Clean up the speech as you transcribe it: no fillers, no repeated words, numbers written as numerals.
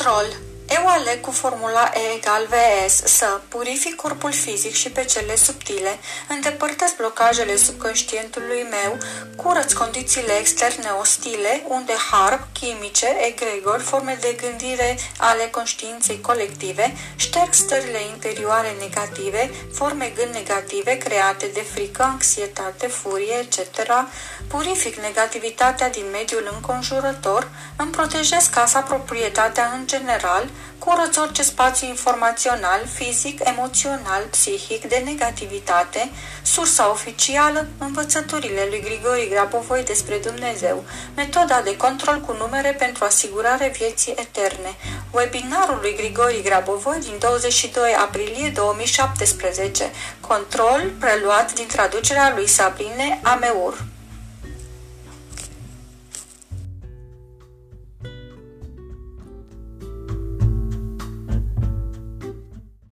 Control. Eu aleg cu formula E egal VS să purific corpul fizic și pe cele subtile, îndepărtez blocajele subconștientului meu, curăț condițiile externe ostile, unde harp, chimice, egregori, forme de gândire ale conștiinței colective, șterg stările interioare negative, forme gând negative create de frică, anxietate, furie, etc., purific negativitatea din mediul înconjurător, îmi protejez casa, proprietatea în general, curăț orice spațiu informațional, fizic, emoțional, psihic de negativitate, sursa oficială, învățăturile lui Grigori Grabovoi despre Dumnezeu, metoda de control cu numere pentru asigurare vieții eterne, webinarul lui Grigori Grabovoi din 22 aprilie 2017, control preluat din traducerea lui Sabrine Ameur.